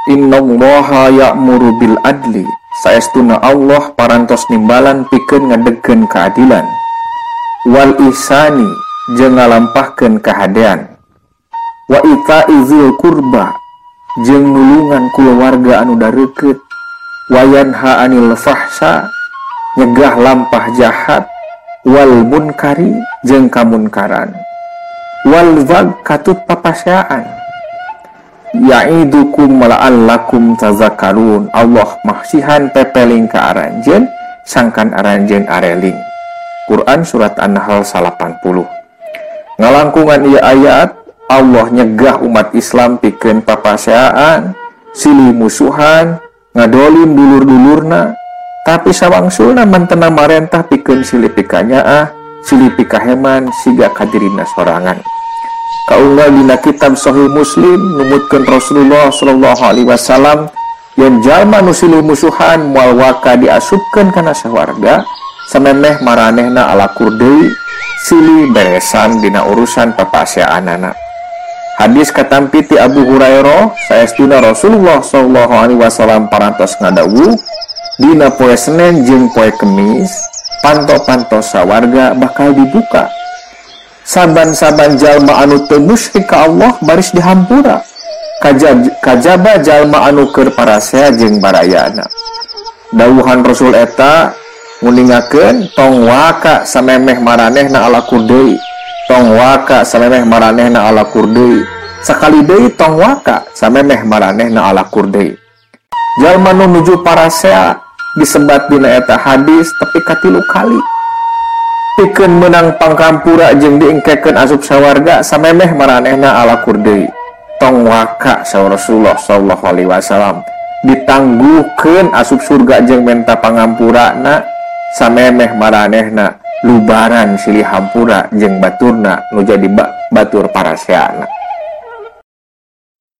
Innallaha ya'muru bil adli, saestuna Allah parantos nimbalan pikeun ngadegkeun keadilan, wal ihsani jeung ngalampahkeun kahadean, wa ita'izil qurba jeung nulungan kulawarga anu dareukeut, wa yanha 'anil fahsya nyegah lampah jahat, wal munkari jeung kamunkaran, wal baghi katut papaseaan. Ya'idukum la'allakum tazakkarun, Allah mahsihan pepeling ka aranjeun sangkan aranjeun areling. Quran surat An-Nahl 80. Ngalangkungan ieu ayat Allah nyegah umat Islam pikeun papaseaan, silih musuhan, ngadolim dulur-dulurna, tapi sawangsulna mantena marentah pikeun silih pikanyaah, silih pikaheman siga kadirina sorangan. Kaunggal dina kitab Sahih Muslim numutkeun Rasulullah sallallahu alaihi wasallam yen jalma nu silih musuhan moal waka diasupkeun kana sawarga samemeh maranehna alakur deui silih beresan dina urusan papaseaanana. Hadis katampi ti Abu Hurairah saestuna Rasulullah sallallahu alaihi wasallam parantos ngadawuh dina poe Senen jeung poe Kemis panto-panto sawarga bakal dibuka. Saban-saban jalma anu teu musyrik ka Allah baris dihampura. Kajaba jalma anu keur parasea jeung barayana. Dawuhan Rasul eta nguningakeun tong waka samemeh maranehna alakur deui. Tong waka samemeh maranehna alakur deui. Sakali deui tong waka samemeh maranehna alakur deui. Jalma nu nuju parasea disebat dina eta hadis tepi ka 3 kali. Pikeun menang pangkampura jeung diengkekeun asup sawarga samemeh maranehna alakur deui. Tong waka saur Rasulullah sallallahu alaihi wasallam ditangguhkeun asup surga jeung menta pangampurana samemeh maranehna lubaran silih hampura jeung baturna nu jadi batur paraseana.